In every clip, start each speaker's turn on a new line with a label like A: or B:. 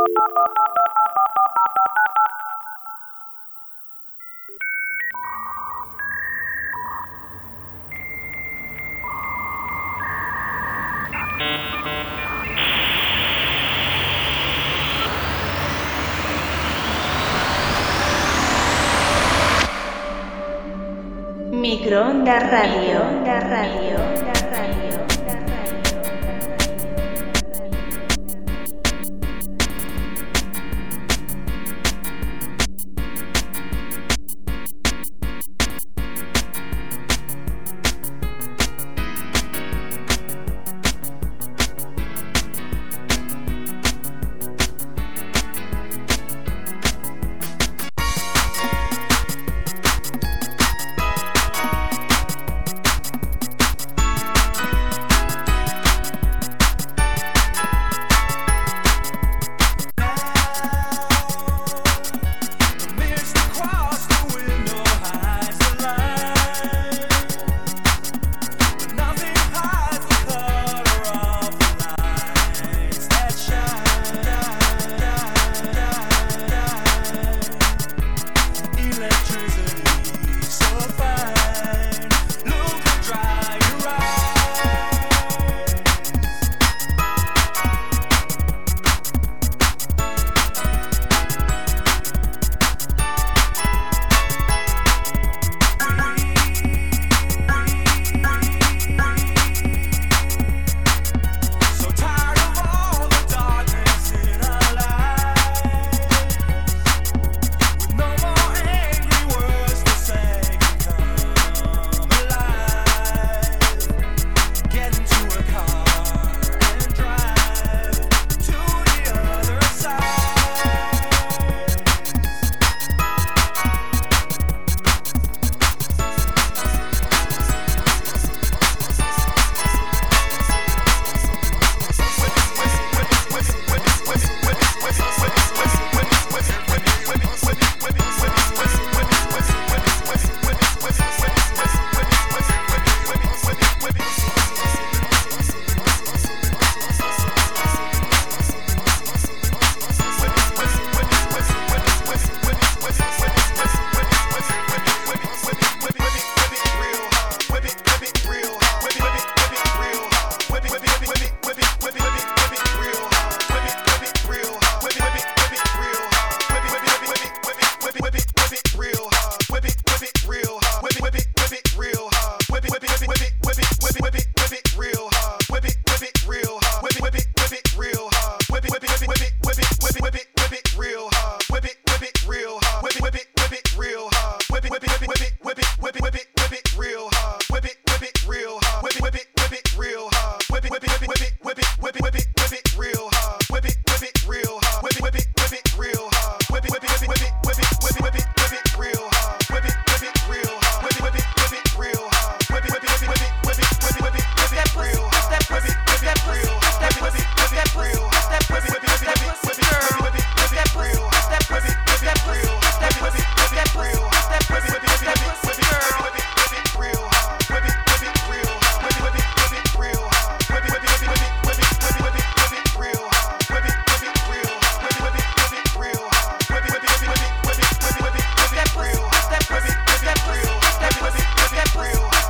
A: Microondas Radio.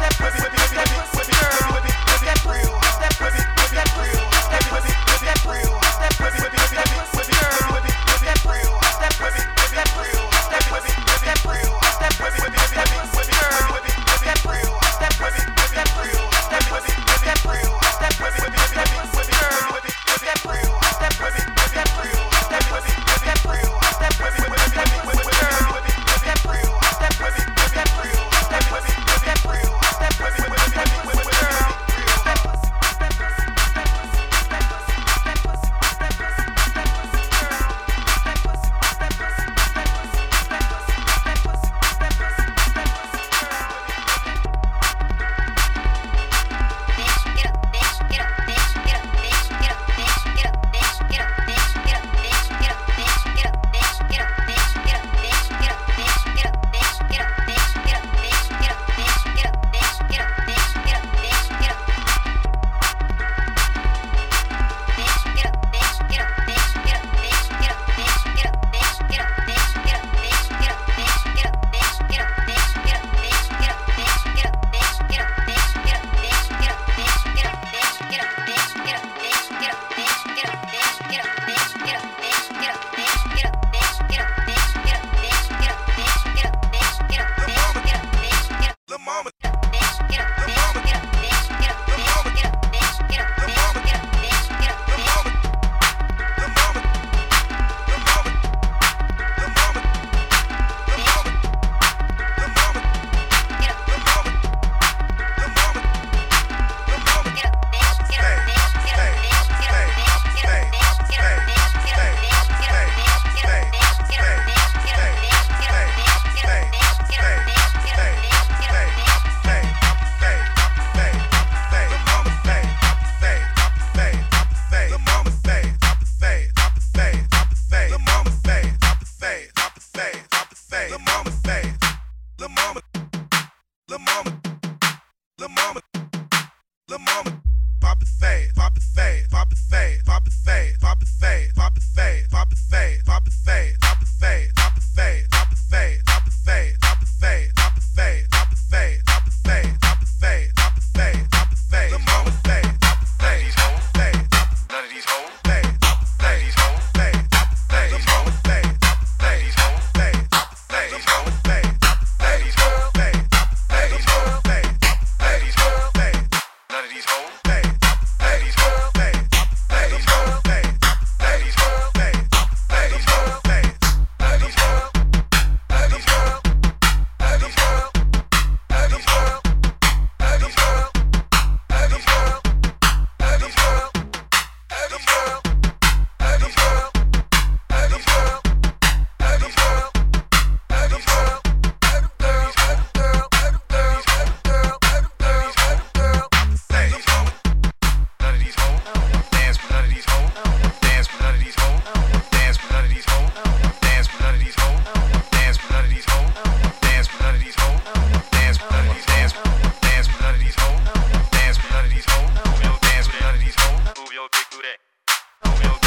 B: Real.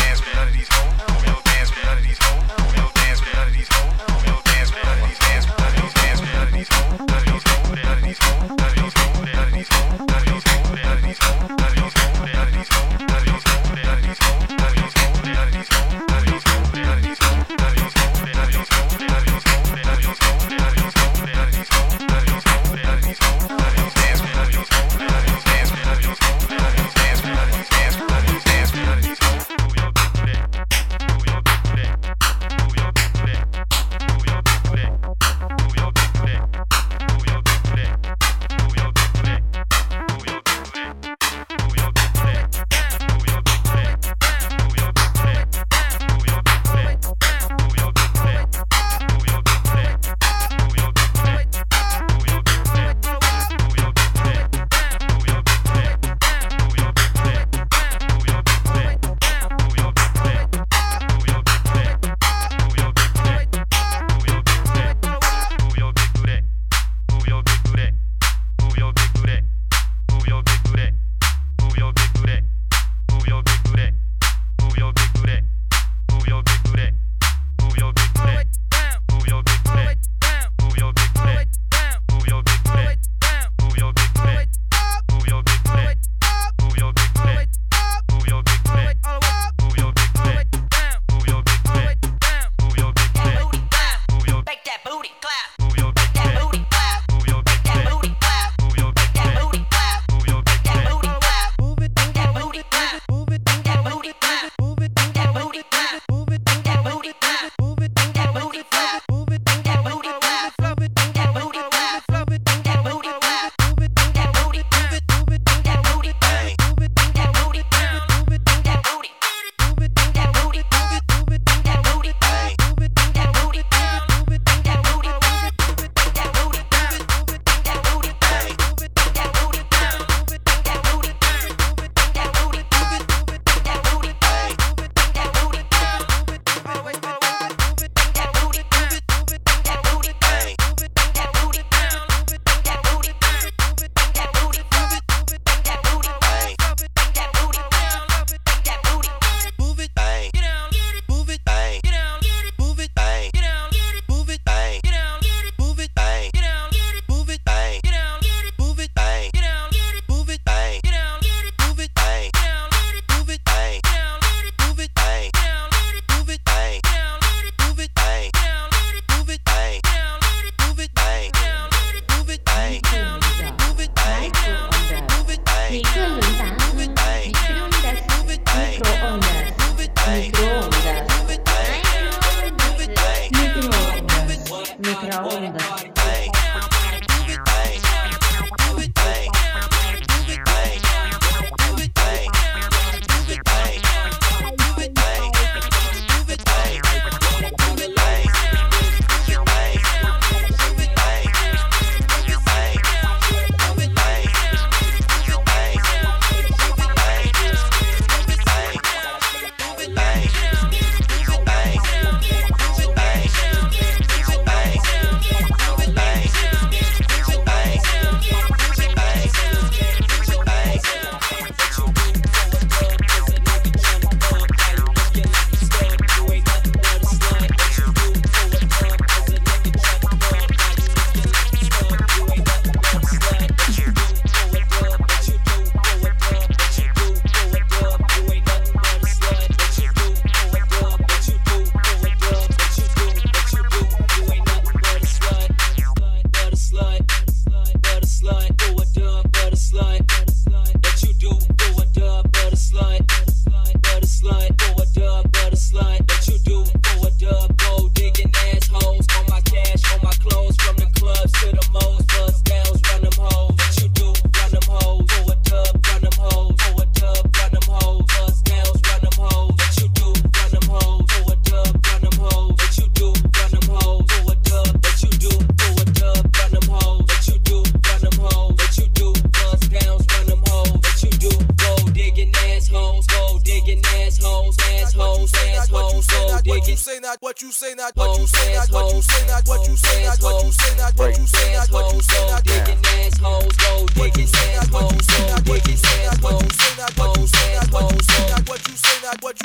B: what you say not, what you say not, what you say not, what you say not, what you say not, what you say not, what you say not, digging assholes, go digging assholes, what you say not, what you say not, what you say not, what you say not, what you say not, what you say not, what you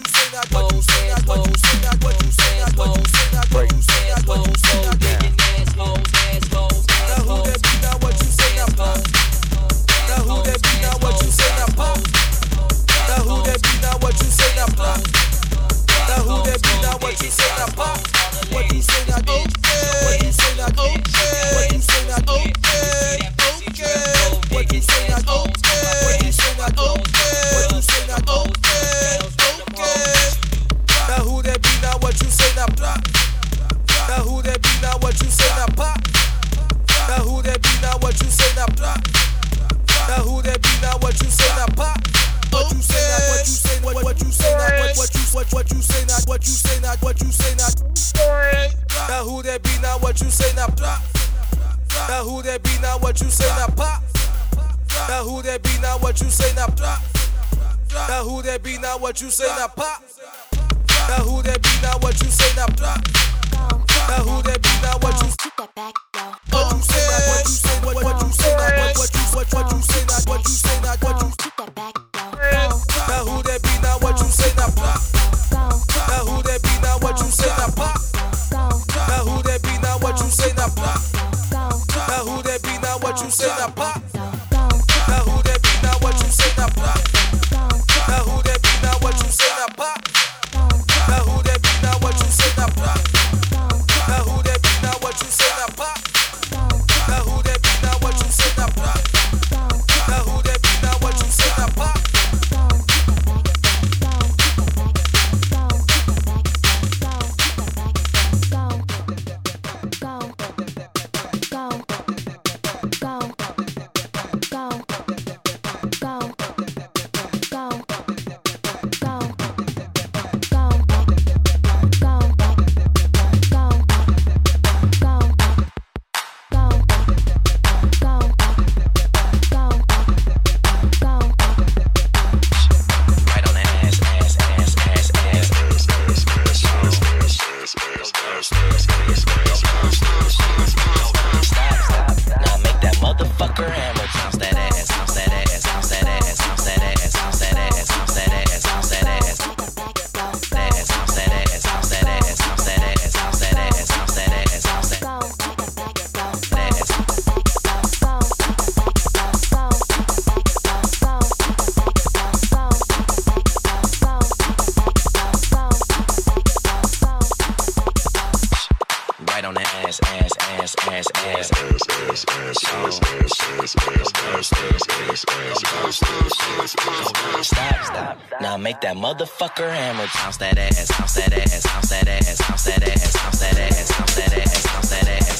C: Motherfucker hammer, bounce that ass, bounce that ass, bounce that ass, bounce that ass, bounce that ass, bounce that ass, bounce that ass,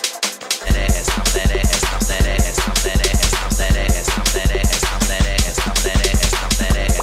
C: that ass, bounce that ass, bounce that ass, bounce that ass, bounce that ass, bounce that ass, bounce that ass, bounce that ass, bounce that ass.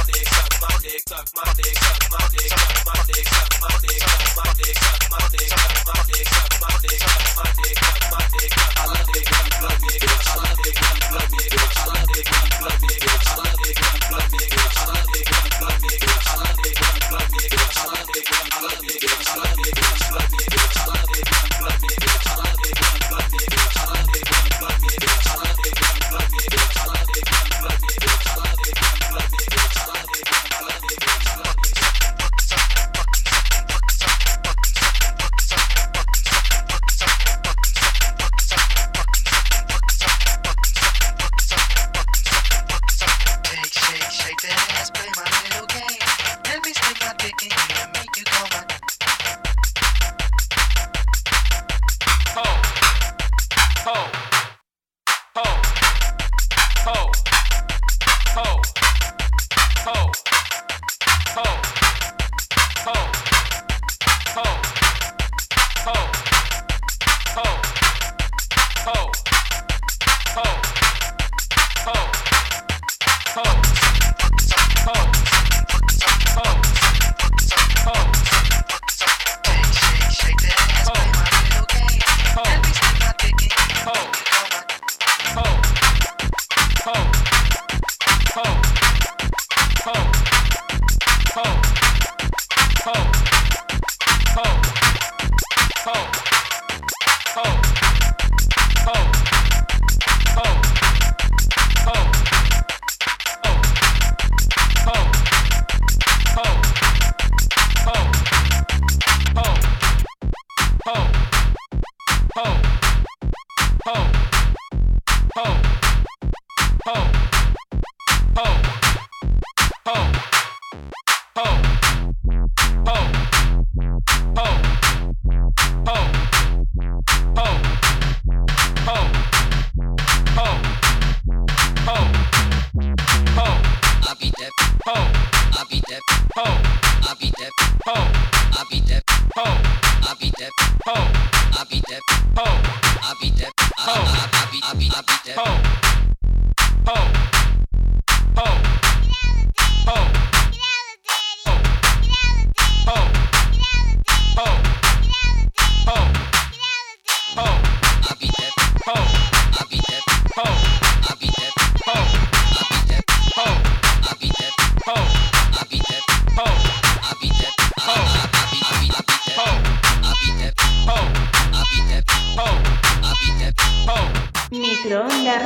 A: Microondas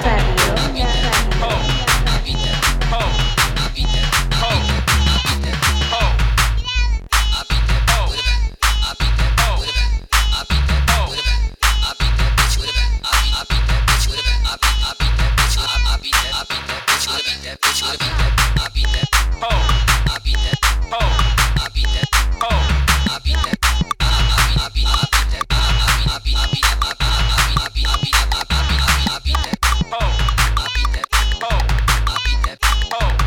A: Radio.
C: Oh.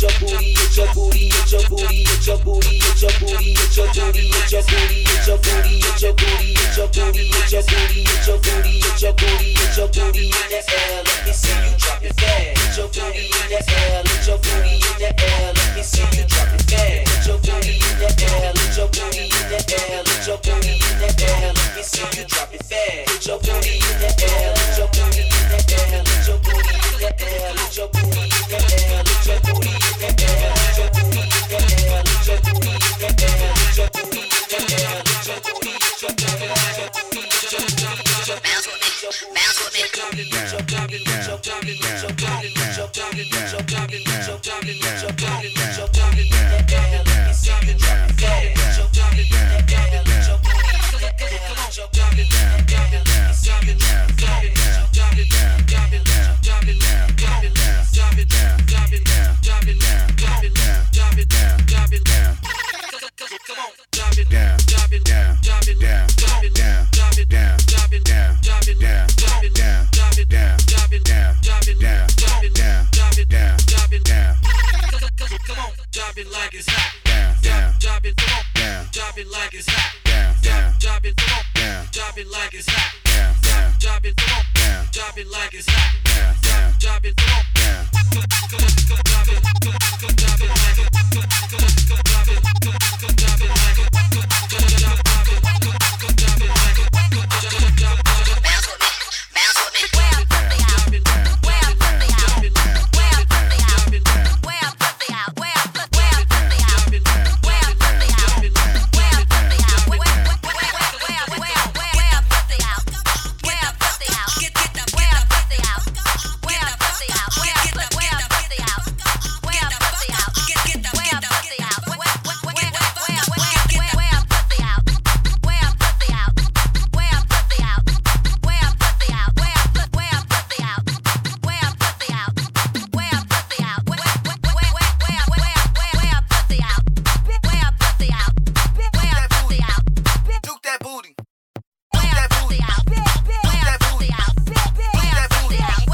B: your booty, it's your booty, it's your booty, it's your booty, it's your booty, it's your booty, it's your booty, it's your booty, it's your booty, it's your booty, it's your booty, it's your booty, it's your booty, it's your booty in the air. Let me see you drop it fast. Put your booty in the air. Let your booty in the air. Let me see you drop it fast. Put your booty in the air. Let your booty in the air. Let your booty in the air. Let me see you drop it fast. Put your booty in the air. Let your booty in the air. Let your booty in the air. Let your booty in the air. Let your booty in the air. Let your booty in the air. Let your booty in the air. Let your booty in the air. Let your booty, let your booty, let your booty, let your booty, let your bounce with me, bounce with me, let your booty, let your booty, let your booty, let your booty, let your booty, let your booty, let your booty, let your booty in the air. Let me see you drop it fast. Let your booty in the air. Let your booty in the air. Let your booty in the air. Let me see you drop it fast. Let your booty down, drop it down, drop it down, drop it down, drop it down, drop it down, drop it down, drop it down, drop it down, drop it down. Come on, drop it down, drop it down, drop it down, drop it down, drop it down, drop it down, drop it down, drop it down, drop it down, drop it down, drop it down, drop it down, drop it down, drop it down. Come on, drop it like it's hot. Down, down, drop it, come on, down, drop it like it's hot. Down, down, drop it, come on, down, drop it like it's hot. Down, down, drop it, come on, down, drop it like it's hot. Down, down, drop it, come on, down, come on, drop it, come drop it like it, come drop it, come drop it like it, come drop it, come drop it like it, bounce with me, bounce with me, well, drop it, well, drop it, well, drop it, well, put the out, well, put the out, well, put the out, well, put the out, well, put the out, well, put the out, well, put the out, get the, well, put the out, well, put the out, well, put the out, well, put the out, well, put the out, get the, well, put the out, well, put the out, well, put the out, well, put the out, well, put the out, well, put the out, well, put the out, well, put the out, well, put the out, well, put the out, well, put the out, well, put the out, well, put the out,
D: Juke that booty.
B: well, put the out, well, put the out, well, put the out,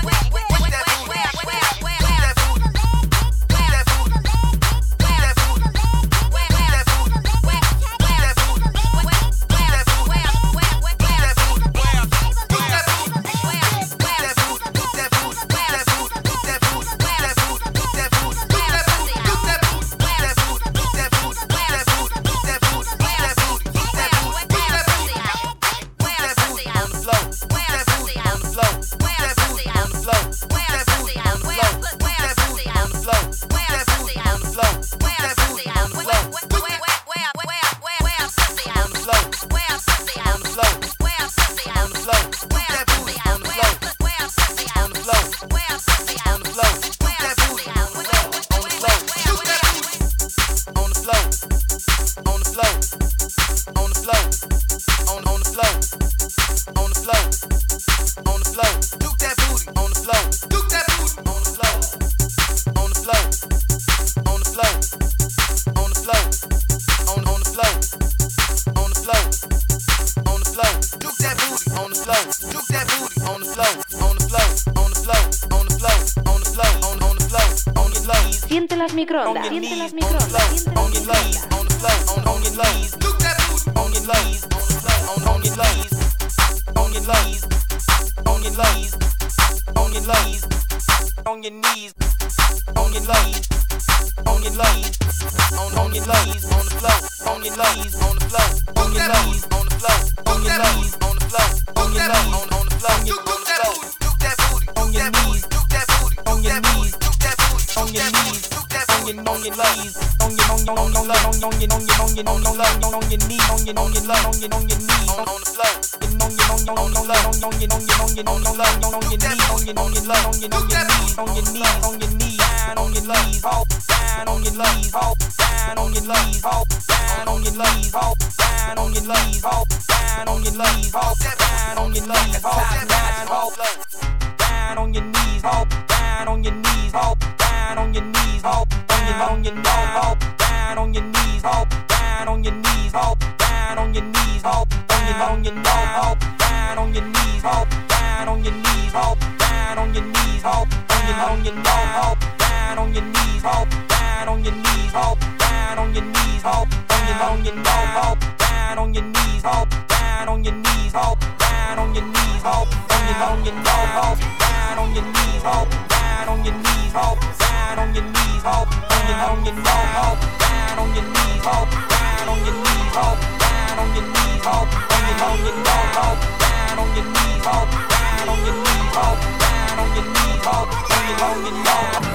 A: Siente las microondas, siente las microondas, siente las microondas.
B: on your nose, down on your knees, ho, down on your knees, ho, down on your knees, ho, on your nose, ho, down on your knees, ho, down on your knees, ho, down on your knees, ho, on your nose, ho, down on your knees, ho, down on your knees, ho, down on your knees, ho, on your nose.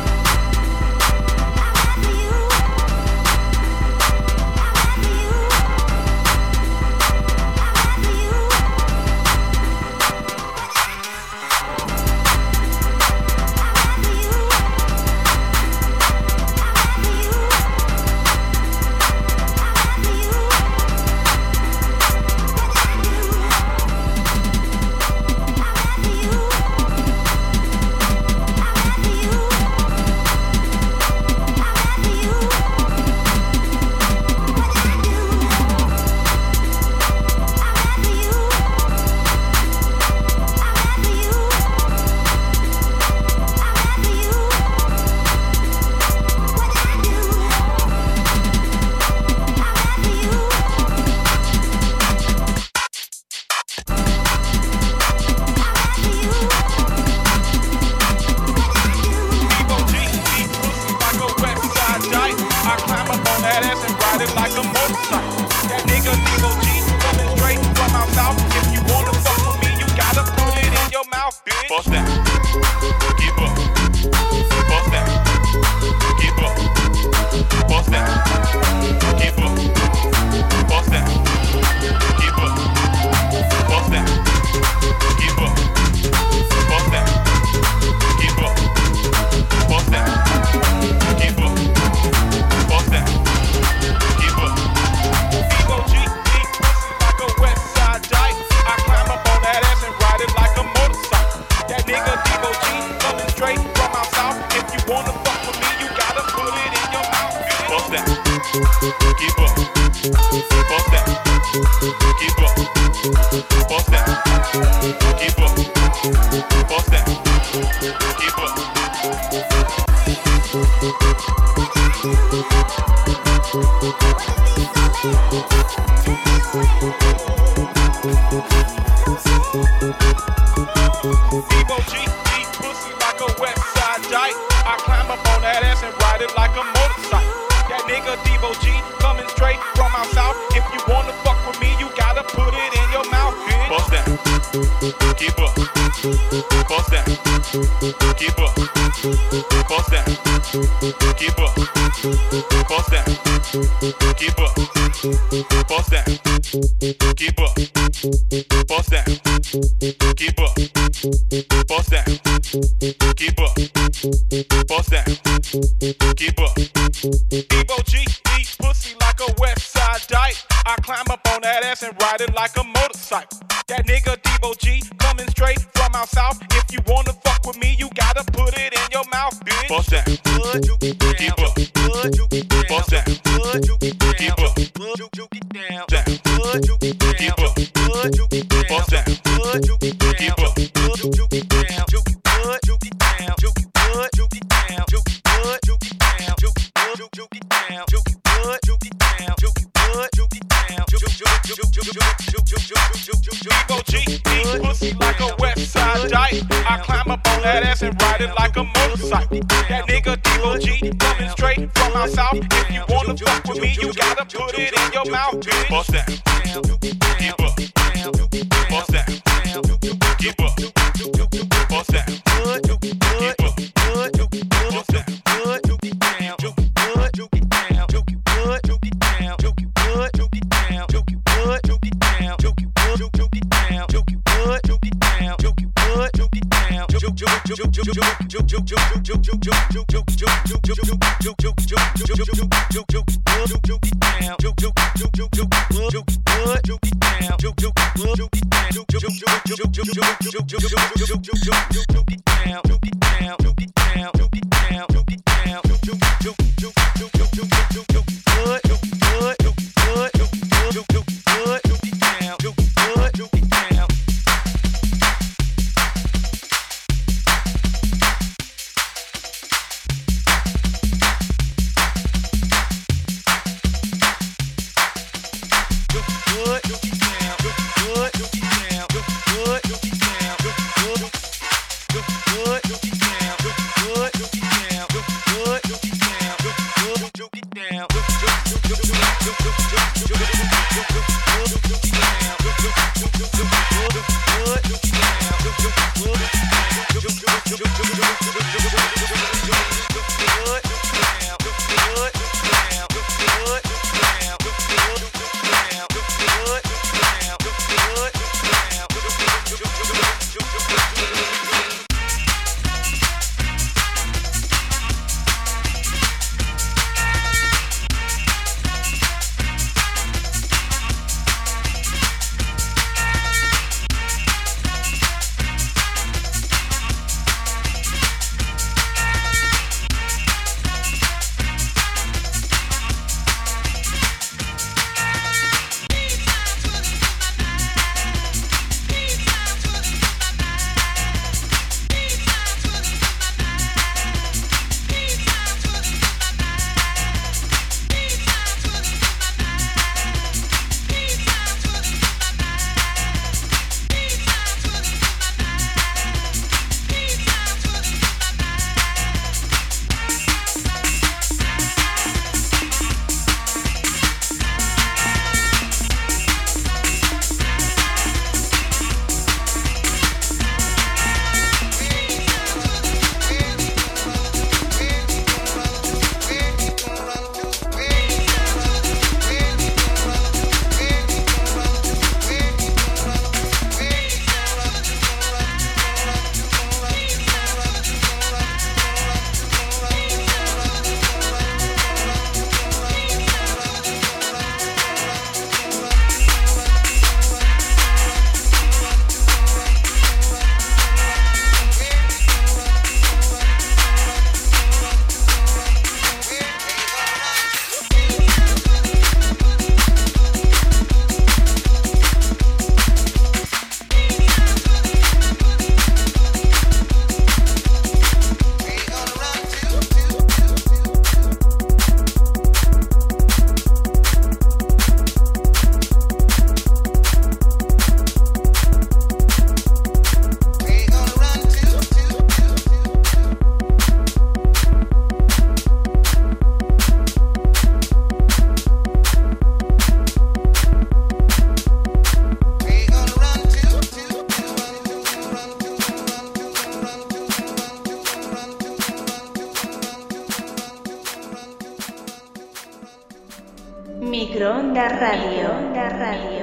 A: Microondas Radio.